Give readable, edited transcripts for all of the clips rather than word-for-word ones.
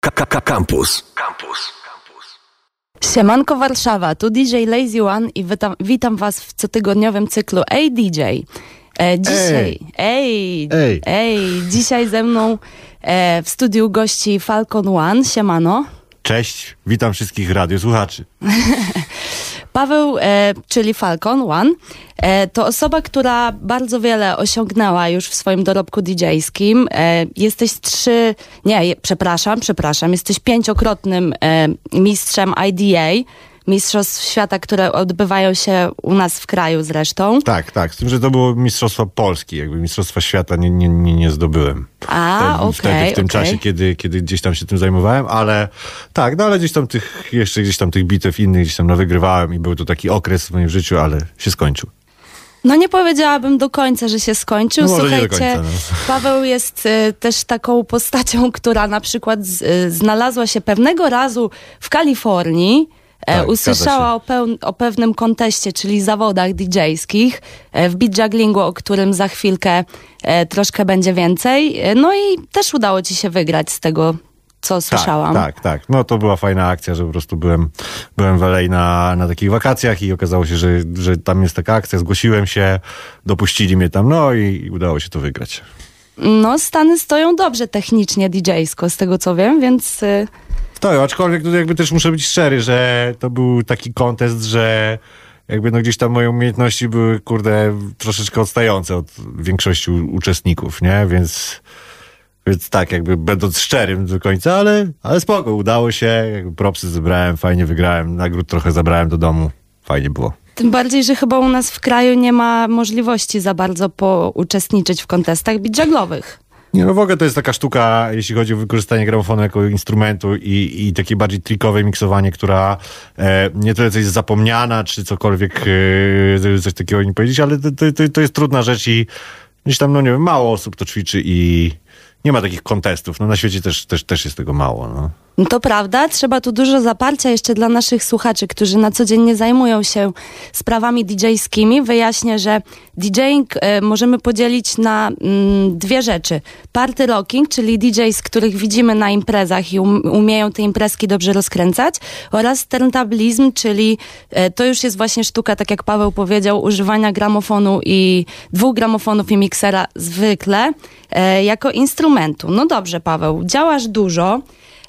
Campus. Siemanko Warszawa, tu DJ Lazy One i witam was w cotygodniowym cyklu Ej DJ. Dzisiaj ze mną w studiu gości Falcon One. Siemano. Cześć, witam wszystkich radiosłuchaczy. Paweł, czyli Falcon One, to osoba, która bardzo wiele osiągnęła już w swoim dorobku DJ-skim. Jesteś jesteś 5-krotnym mistrzem IDA, Mistrzostw Świata, które odbywają się u nas w kraju zresztą. Tak, z tym, że to było Mistrzostwa Polski, jakby Mistrzostwa Świata nie zdobyłem. Okej. W tym czasie, kiedy gdzieś tam się tym zajmowałem, ale tak, ale gdzieś tam tych bitew innych gdzieś tam nawygrywałem i był to taki okres w moim życiu, ale się skończył. No nie powiedziałabym do końca, że się skończył. No, słuchajcie, Paweł jest też taką postacią, która na przykład znalazła się pewnego razu w Kalifornii. Usłyszała o pewnym konteście, czyli zawodach DJ-skich w beat jugglingu, o którym za chwilkę troszkę będzie więcej. No i też udało ci się wygrać z tego, co słyszałam. Tak. No to była fajna akcja, że po prostu byłem w LA na takich wakacjach i okazało się, że tam jest taka akcja, zgłosiłem się, dopuścili mnie tam, no i udało się to wygrać. No Stany stoją dobrze technicznie DJ-sko, z tego co wiem, więc... To, aczkolwiek tutaj jakby też muszę być szczery, że to był taki kontest, że jakby gdzieś tam moje umiejętności były, troszeczkę odstające od większości uczestników, nie? Więc tak, jakby będąc szczerym do końca, ale spoko, udało się, jakby propsy zebrałem, fajnie wygrałem, nagród trochę zabrałem do domu, fajnie było. Tym bardziej, że chyba u nas w kraju nie ma możliwości za bardzo uczestniczyć w kontestach beat jugglowych. Nie, no w ogóle to jest taka sztuka, jeśli chodzi o wykorzystanie gramofonu jako instrumentu i takie bardziej trickowe miksowanie, która nie tyle coś jest zapomniana, czy cokolwiek, coś takiego nie powiedzieć, ale to jest trudna rzecz i gdzieś tam, mało osób to ćwiczy i nie ma takich kontestów. No na świecie też jest tego mało, no. No to prawda, trzeba tu dużo zaparcia jeszcze dla naszych słuchaczy, którzy na co dzień nie zajmują się sprawami DJ-skimi. Wyjaśnię, że DJing możemy podzielić na dwie rzeczy. Party rocking, czyli DJs, których widzimy na imprezach i umieją te imprezki dobrze rozkręcać, oraz turntablizm, czyli to już jest właśnie sztuka, tak jak Paweł powiedział, używania gramofonu i 2 gramofonów i miksera zwykle jako instrumentu. No dobrze, Paweł, działasz dużo.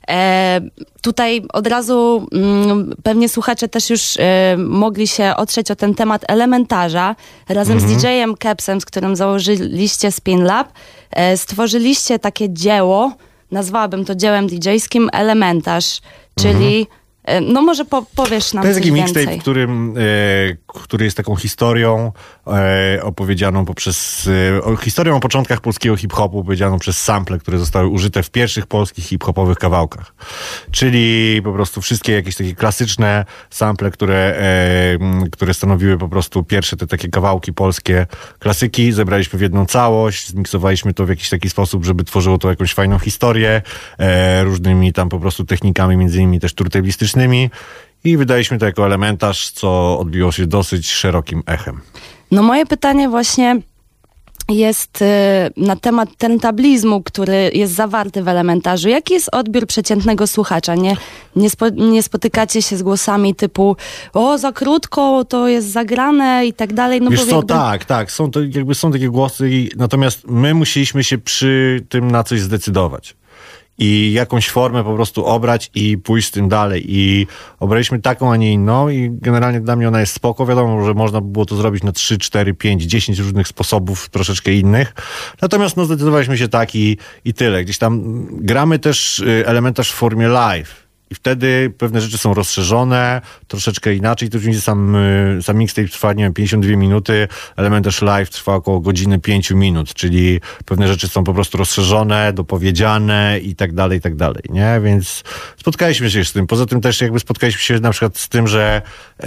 Tutaj od razu pewnie słuchacze też już mogli się otrzeć o ten temat elementarza. Razem z DJ-em Kepsem, z którym założyliście Spin Lab, stworzyliście takie dzieło, nazwałabym to dziełem DJ-skim, Elementarz, czyli no może powiesz nam coś więcej. To jest taki mixtape, który jest taką historią opowiedzianą historią o początkach polskiego hip-hopu, opowiedzianą przez sample, które zostały użyte w pierwszych polskich hip-hopowych kawałkach. Czyli po prostu wszystkie jakieś takie klasyczne sample, które stanowiły po prostu pierwsze te takie kawałki polskie klasyki, zebraliśmy w jedną całość, zmiksowaliśmy to w jakiś taki sposób, żeby tworzyło to jakąś fajną historię, różnymi tam po prostu technikami, między innymi też turtablistycznymi, i wydaliśmy to jako elementarz, co odbiło się dosyć szerokim echem. No moje pytanie właśnie jest na temat turntablizmu, który jest zawarty w elementarzu. Jaki jest odbiór przeciętnego słuchacza? Nie spotykacie się z głosami typu za krótko, to jest zagrane i tak dalej. No wiesz co, tak. Są takie głosy, natomiast my musieliśmy się przy tym na coś zdecydować. I jakąś formę po prostu obrać i pójść z tym dalej. I obraliśmy taką, a nie inną i generalnie dla mnie ona jest spoko. Wiadomo, że można by było to zrobić na 3, 4, 5, 10 różnych sposobów, troszeczkę innych. Natomiast zdecydowaliśmy się tak i tyle. Gdzieś tam gramy też elementarz w formie live. I wtedy pewne rzeczy są rozszerzone, troszeczkę inaczej. To oczywiście sam mixtape trwa, 52 minuty, elementarz live trwa około godziny 5 minut, czyli pewne rzeczy są po prostu rozszerzone, dopowiedziane i tak dalej, nie? Więc spotkaliśmy się z tym. Poza tym też jakby spotkaliśmy się na przykład z tym, że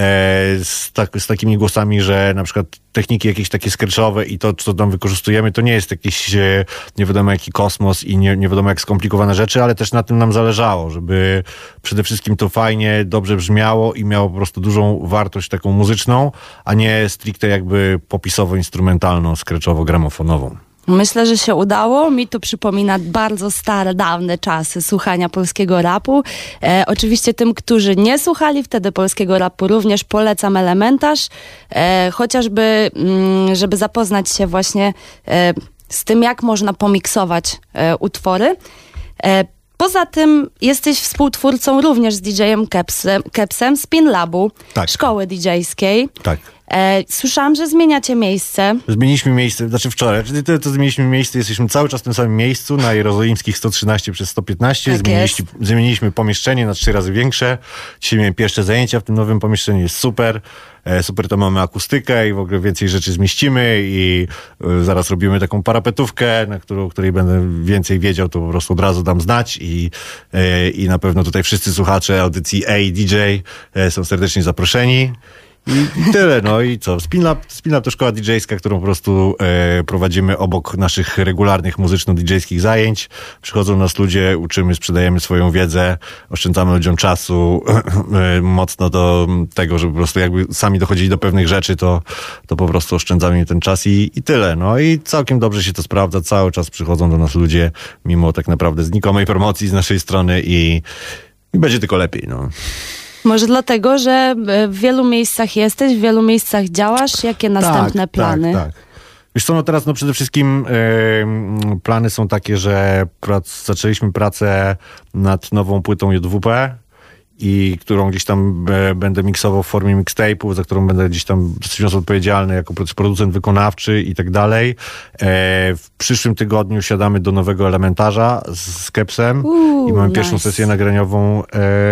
z takimi głosami, że na przykład techniki jakieś takie scratchowe i to, co tam wykorzystujemy, to nie jest jakiś nie wiadomo jaki kosmos i nie wiadomo jak skomplikowane rzeczy, ale też na tym nam zależało, żeby przede wszystkim to fajnie, dobrze brzmiało i miało po prostu dużą wartość taką muzyczną, a nie stricte jakby popisowo-instrumentalną, scratchowo-gramofonową. Myślę, że się udało. Mi to przypomina bardzo stare, dawne czasy słuchania polskiego rapu. Oczywiście tym, którzy nie słuchali wtedy polskiego rapu, również polecam Elementarz. Chociażby, żeby zapoznać się właśnie z tym, jak można pomiksować utwory. Poza tym jesteś współtwórcą również z DJ-em Kepsem Spin Labu, tak. Szkoły DJ-skiej. Tak. Słyszałam, że zmieniacie miejsce. Zmieniliśmy miejsce, znaczy wczoraj, czyli to zmieniliśmy miejsce, jesteśmy cały czas w tym samym miejscu, na Jerozolimskich 113 przez 115. Tak Zmieniliśmy pomieszczenie na 3 razy większe. Dzisiaj miałem pierwsze zajęcia w tym nowym pomieszczeniu, jest super. Super, to mamy akustykę i w ogóle więcej rzeczy zmieścimy i zaraz robimy taką parapetówkę, o której będę więcej wiedział, to po prostu od razu dam znać i na pewno tutaj wszyscy słuchacze audycji DJ są serdecznie zaproszeni. I tyle, no i co? Spin Lab to szkoła DJ-ska, którą po prostu prowadzimy obok naszych regularnych muzyczno-DJ-skich zajęć. Przychodzą nas ludzie, uczymy, sprzedajemy swoją wiedzę, oszczędzamy ludziom czasu mocno do tego, żeby po prostu jakby sami dochodzili do pewnych rzeczy, to po prostu oszczędzamy im ten czas i tyle. No i całkiem dobrze się to sprawdza, cały czas przychodzą do nas ludzie, mimo tak naprawdę znikomej promocji z naszej strony i będzie tylko lepiej, no. Może dlatego, że w wielu miejscach jesteś, w wielu miejscach działasz. Jakie następne plany? Tak. Wiesz co, no teraz przede wszystkim plany są takie, że zaczęliśmy pracę nad nową płytą JWP i którą gdzieś tam będę miksował w formie mixtape'u, za którą będę gdzieś tam dosyć odpowiedzialny jako producent wykonawczy i tak dalej. W przyszłym tygodniu siadamy do nowego Elementarza z Kepsem i mamy pierwszą sesję nagraniową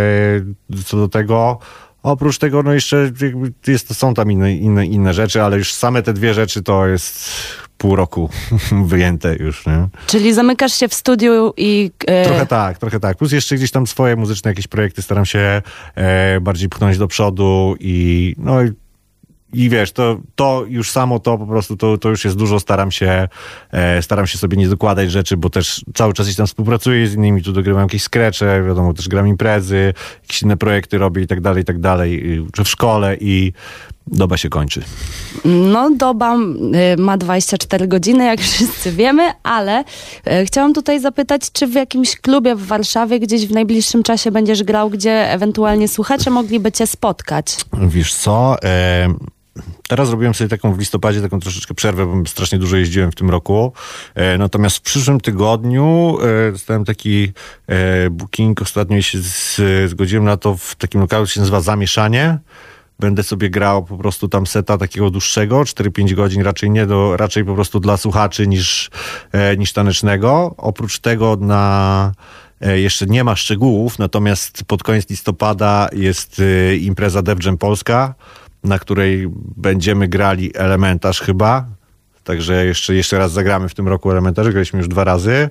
co do tego. Oprócz tego, no jeszcze są tam inne rzeczy, ale już same te 2 rzeczy to jest pół roku wyjęte już, nie? Czyli zamykasz się w studiu i... Trochę tak. Plus jeszcze gdzieś tam swoje muzyczne jakieś projekty staram się bardziej pchnąć do przodu i wiesz, to już samo to po prostu to już jest dużo, staram się sobie nie dokładać rzeczy, bo też cały czas gdzieś tam współpracuję z innymi, tu dogrywam jakieś skrecze, wiadomo, też gram imprezy, jakieś inne projekty robię i tak dalej, czy w szkole i doba się kończy. No, doba ma 24 godziny, jak wszyscy wiemy, ale chciałam tutaj zapytać, czy w jakimś klubie w Warszawie gdzieś w najbliższym czasie będziesz grał, gdzie ewentualnie słuchacze mogliby cię spotkać? Wiesz co, teraz zrobiłem sobie w listopadzie taką troszeczkę przerwę, bo strasznie dużo jeździłem w tym roku. Natomiast w przyszłym tygodniu dostałem taki booking, ostatnio się zgodziłem na to w takim lokalu, który się nazywa Zamieszanie. Będę sobie grał po prostu tam seta takiego dłuższego, 4-5 godzin, raczej po prostu dla słuchaczy niż tanecznego. Oprócz tego jeszcze nie ma szczegółów, natomiast pod koniec listopada jest impreza Def Jam Polska, na której będziemy grali Elementarz chyba. Także jeszcze raz zagramy w tym roku Elementarz. Graliśmy już 2 razy.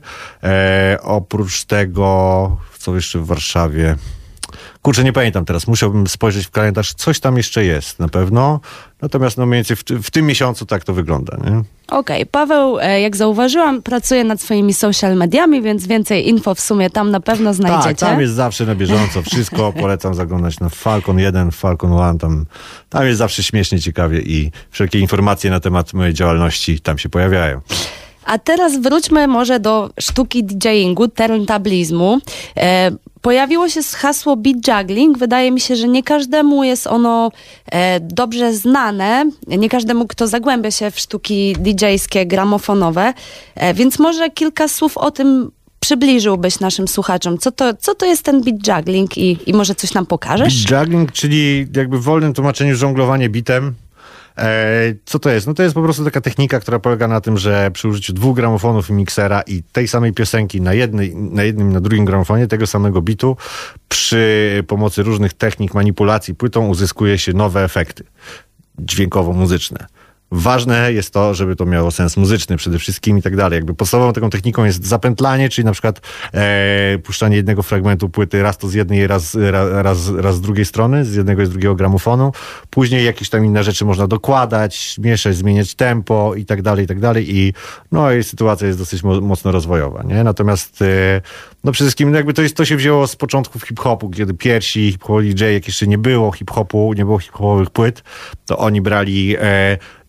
Oprócz tego, co jeszcze w Warszawie? Kurczę, nie pamiętam teraz. Musiałbym spojrzeć w kalendarz. Coś tam jeszcze jest na pewno. Natomiast mniej więcej w tym miesiącu tak to wygląda, nie? Okej. Paweł, jak zauważyłam, pracuje nad swoimi social mediami, więc więcej info w sumie tam na pewno znajdziecie. Tak, tam jest zawsze na bieżąco wszystko. Polecam zaglądać na Falcon 1, Falcon 1. Tam jest zawsze śmiesznie, ciekawie i wszelkie informacje na temat mojej działalności tam się pojawiają. A teraz wróćmy może do sztuki DJingu, turntablizmu. Pojawiło się hasło beat juggling. Wydaje mi się, że nie każdemu jest ono dobrze znane. Nie każdemu, kto zagłębia się w sztuki DJ-skie, gramofonowe. Więc może kilka słów o tym przybliżyłbyś naszym słuchaczom. Co to jest ten beat juggling i może coś nam pokażesz? Beat juggling, czyli jakby w wolnym tłumaczeniu żonglowanie beatem. Co to jest? No to jest po prostu taka technika, która polega na tym, że przy użyciu 2 gramofonów i miksera i tej samej piosenki na jednym i na drugim gramofonie, tego samego bitu, przy pomocy różnych technik manipulacji płytą uzyskuje się nowe efekty dźwiękowo-muzyczne. Ważne jest to, żeby to miało sens muzyczny przede wszystkim i tak dalej. Jakby podstawową taką techniką jest zapętlanie, czyli na przykład puszczanie jednego fragmentu płyty raz to z jednej, raz z drugiej strony, z jednego i z drugiego gramofonu. Później jakieś tam inne rzeczy można dokładać, mieszać, zmieniać tempo i tak dalej, i sytuacja jest dosyć mocno rozwojowa, nie? Natomiast przede wszystkim jakby to się wzięło z początków hip-hopu, kiedy pierwsi hip-hop DJ, jak jeszcze nie było hip-hopowych płyt, to oni brali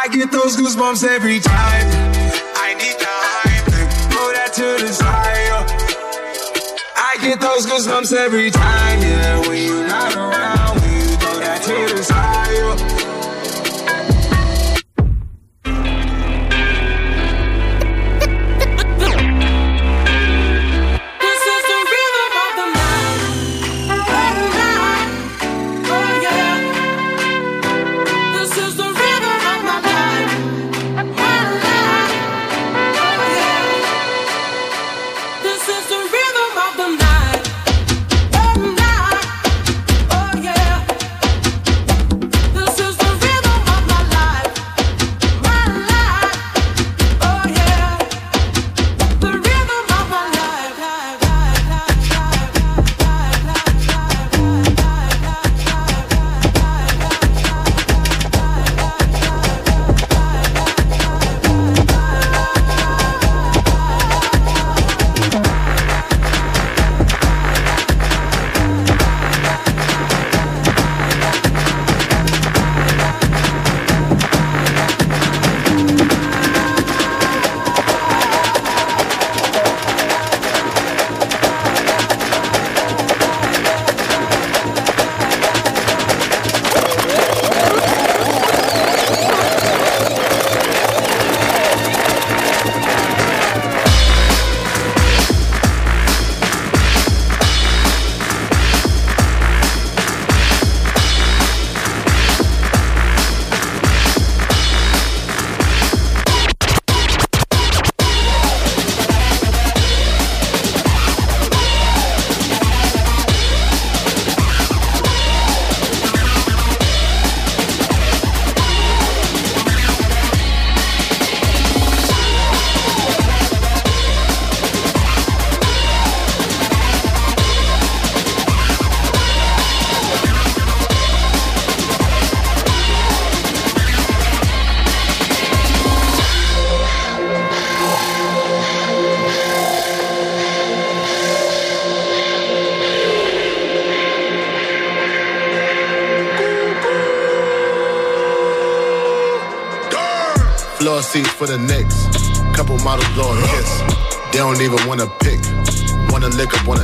I get those goosebumps every time. I need the hype, throw that to the side. I get those goosebumps every time, yeah. When you're not around, when you throw that to the side. Floor seats for the Knicks. Couple models blow a kiss. They don't even wanna pick. Wanna lick up on a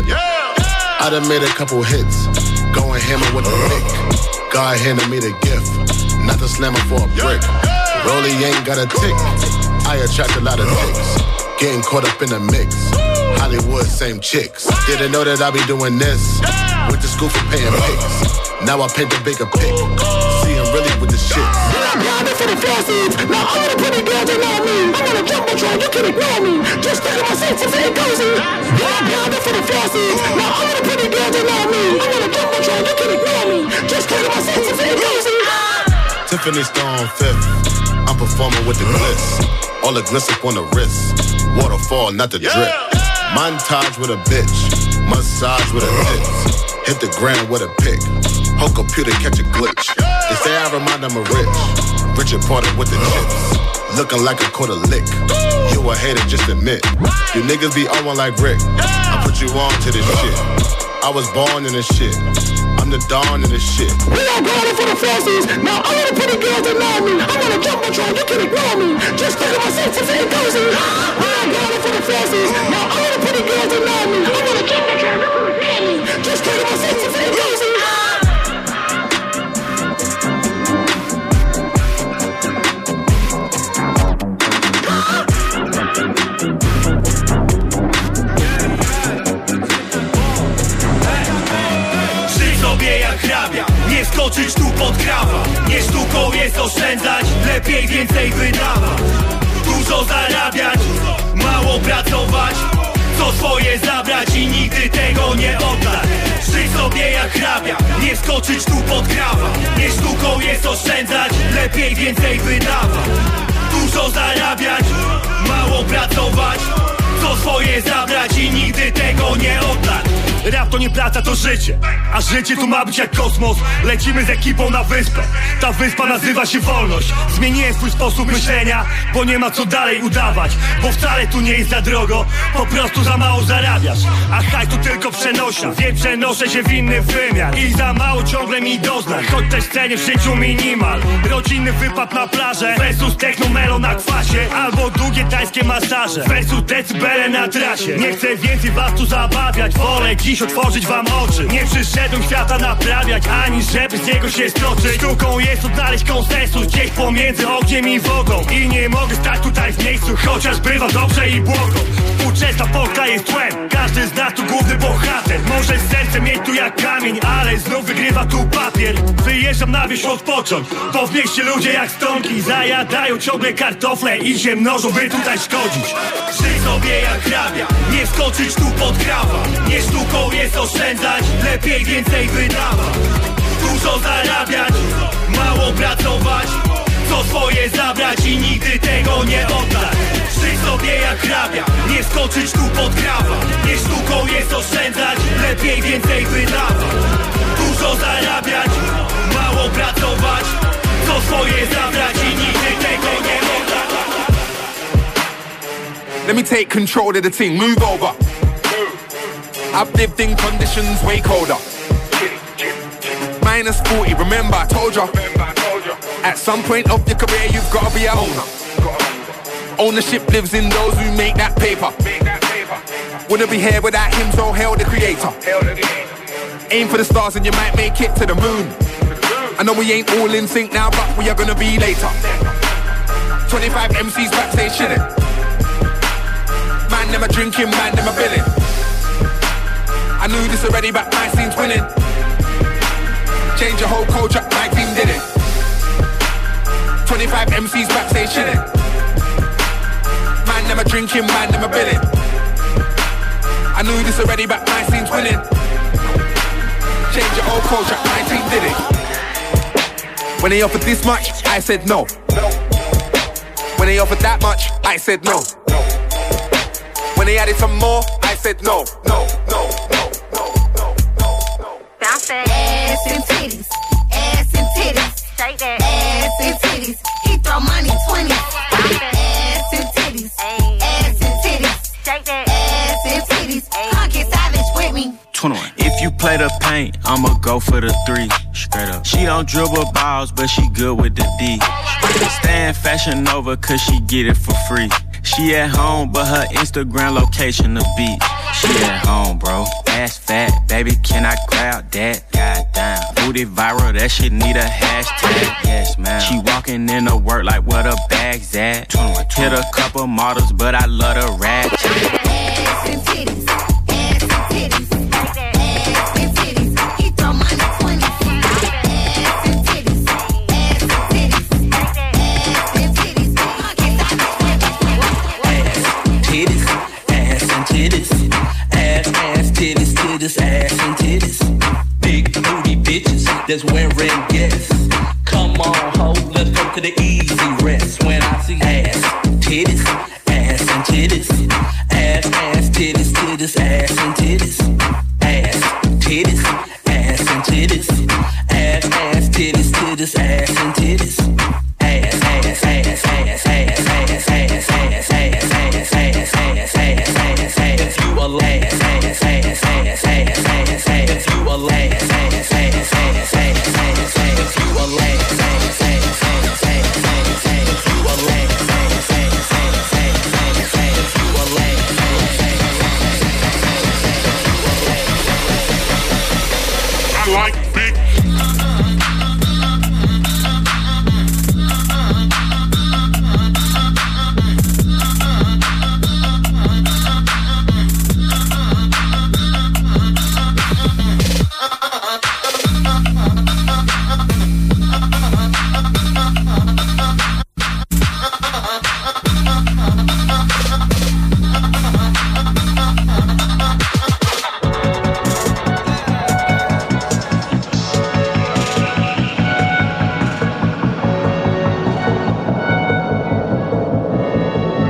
I done made a couple hits. Going hammer with a lick. God handed me the gift. Not to slam her for a brick. Rollie ain't got a tick. I attract a lot of ticks. Getting caught up in the mix. Hollywood, same chicks. Didn't know that I be doing this. Went to school for paying pics. Now I paint the bigger pic. Seeing really with the shit. I'm grinding for the falsies. Now all the pretty girls they know me. I'm on a jumbotron, you can ignore me. Just look at my seats and say cozy. I'm grinding for the falsies. Now all the pretty girls they know me. I'm on a jumbotron, you can ignore me. Just look at my seats and say cozy. Tiffany Stone fifth. I'm performing with the glitz. All the gliss up on the wrist. Waterfall, not the drip. Montage with a bitch. Massage with a tits. Hit the ground with a pick. Whole computer catch a glitch. They say I remind them of Rich. Richard Porter with the chips. Looking like a quarter lick. You a hater, just admit. You niggas be on one like Rick. I put you on to this shit. I was born in this shit. I'm the dawn in this shit. We all grinding for the falsies. Now all the pretty girls they know me. I'm on a jumbotron, you can ignore me. Just look at my seats and say cozy. We all grinding for the falsies. Now all the pretty girls they know me. I'm on a jumbotron, you can ignore me. Just look at my seats and say cozy. Nie skoczyć tu pod krawa. Nie sztuką jest oszczędzać, lepiej więcej wydawać. Dużo zarabiać, mało pracować. Co swoje zabrać i nigdy tego nie oddać. Żyj sobie jak hrabia, nie skoczyć tu pod krawa. Nie sztuką jest oszczędzać, lepiej więcej wydawać. Dużo zarabiać, mało pracować. Co swoje zabrać i nigdy tego nie oddać. Rap rap to nie praca, to życie. A życie tu ma być jak kosmos. Lecimy z ekipą na wyspę. Ta wyspa nazywa się wolność. Zmieniłem swój sposób myślenia, bo nie ma co dalej udawać. Bo wcale tu nie jest za drogo, po prostu za mało zarabiasz. A hajs to tylko przenośnia, więc przenoszę się w inny wymiar. I za mało ciągle mi doznań, choć też cenię w życiu minimal. Rodzinny wypad na plażę versus technomelo na kwasie, albo długie tańskie masaże versus decybele na trasie. Nie chcę więcej was tu zabawiać, wolę dziś otworzyć wam oczy. Nie przyszedłem świata naprawiać, ani żeby z niego się stoczyć. Sztuką jest odnaleźć konsensus gdzieś pomiędzy ogniem i wodą. I nie mogę stać tutaj w miejscu, chociaż bywa dobrze i błogo. Współczesna Polska jest tłem, każdy z nas tu główny bohater. Może serce mieć tu jak kamień, ale znów wygrywa tu papier. Wyjeżdżam na wieś odpocząć, bo w mieście ludzie jak stonki zajadają ciągle kartofle i się mnożą, by tutaj szkodzić. Żyj sobie jak hrabia, nie skoczyć tu pod grawa. Nie sztuką jest oszczędzać, lepiej więcej wydawać. Dużo zarabiać, mało pracować, co swoje zabrać i nigdy tego nie oddać. Żyj sobie jak hrabia, nie skoczyć tu pod grawa. Nie sztuką jest oszczędzać, lepiej więcej wydawać. Dużo zarabiać, mało pracować, co swoje zabrać i nigdy tego nie oddać. Let me take control of the thing, move over. I've lived in conditions way colder. Minus 40, remember I told ya. At some point of your career you've gotta be a owner. Ownership lives in those who make that paper. Wouldn't be here without him, so hail the creator. Aim for the stars and you might make it to the moon. I know we ain't all in sync now, but we are gonna be later. 25 MCs backstage chilling. Man, them a drinking, man, them a billing. I knew this already, but my scene's winning. Change your whole culture, my team did it. 25 MCs backstage chilling. Man, them a drinking, man, them a billing. I knew this already, but my scene's winning. Change your whole culture, my team did it. When they offered this much, I said no. When they offered that much, I said no. When they added some more, I said no, no, no, no, no, no, no, no. Bounce that ass and titties, ass and titties. Shake that ass and titties. He throw money 20. Bounce that ass and titties, ass and titties. Shake that ass and titties. Come get savage with me. 21. If you play the paint, I'ma go for the 3. Straight up. She don't dribble balls, but she good with the D. Stay in Fashion Nova, cause she get it for free. She at home, but her Instagram location the beach. She at home, bro. Ass fat, baby, can I grab that? Goddamn. Booty viral, that shit need a hashtag. Yes, man. She walking in to work like where the bag's at. 21. Hit a couple models, but I love the rat. Ass and titties, ass and titties. Ass and titties. He throw money 20. Ass and titties, ass and titties. Ass and titties. Come get Titties, ass and titties, ass, titties, titties, ass and titties. Big booty bitches that's wearing guests. Come on, ho, let's go to the easy rest. When I see ass, titties, ass and titties, ass, titties, titties, ass and titties, ass, titties, ass and titties, ass, titties, titties, ass and titties, ass, ass, ass, ass, ass, ass, ass, ass, ass, ass, ass, ass, ass, ass, if you a ass, ass, ass, ass, ass, ass, if you a ass, ass, ass, ass, ass, ass, if you a ass, ass, ass, ass, ass, if you a ass, ass, ass, ass, ass, if you a ass, I like big.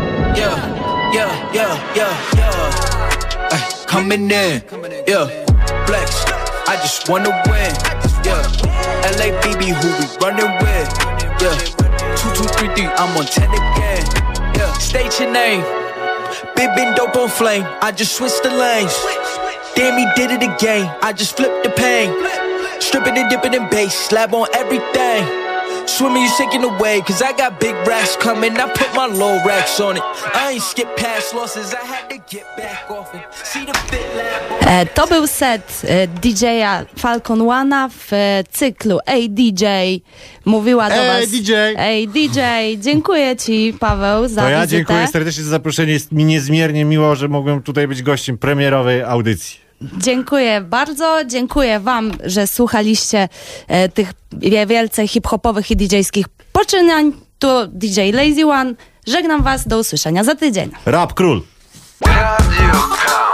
Coming in, yeah. flex. I just wanna win, yeah. LA BB, who we running with, yeah. 2, 2, 3, 3, I'm on 10 again, yeah. State your name, big been dope on flame. I just switched the lanes. Damn, he did it again. I just flipped the pain. Stripping and dipping in bass, slab on everything. Swimming, you sinking away, cause I got big racks coming. I put my low racks on it. I ain't skip past losses, I had to get back off it. See the fit lab. To był set DJ-a Falcon One'a w cyklu Ej DJ. Mówiła do was... DJ! Ej DJ! Dziękuję ci, Paweł, za To ja wizytę. dziękuję serdecznie za zaproszenie. Jest mi niezmiernie miło, że mogłem tutaj być gościem premierowej audycji. Dziękuję bardzo, dziękuję wam, że słuchaliście tych wielce hip-hopowych i DJ-skich poczynań. To DJ Lazy One. Żegnam was, do usłyszenia za tydzień. Rap Król. Radio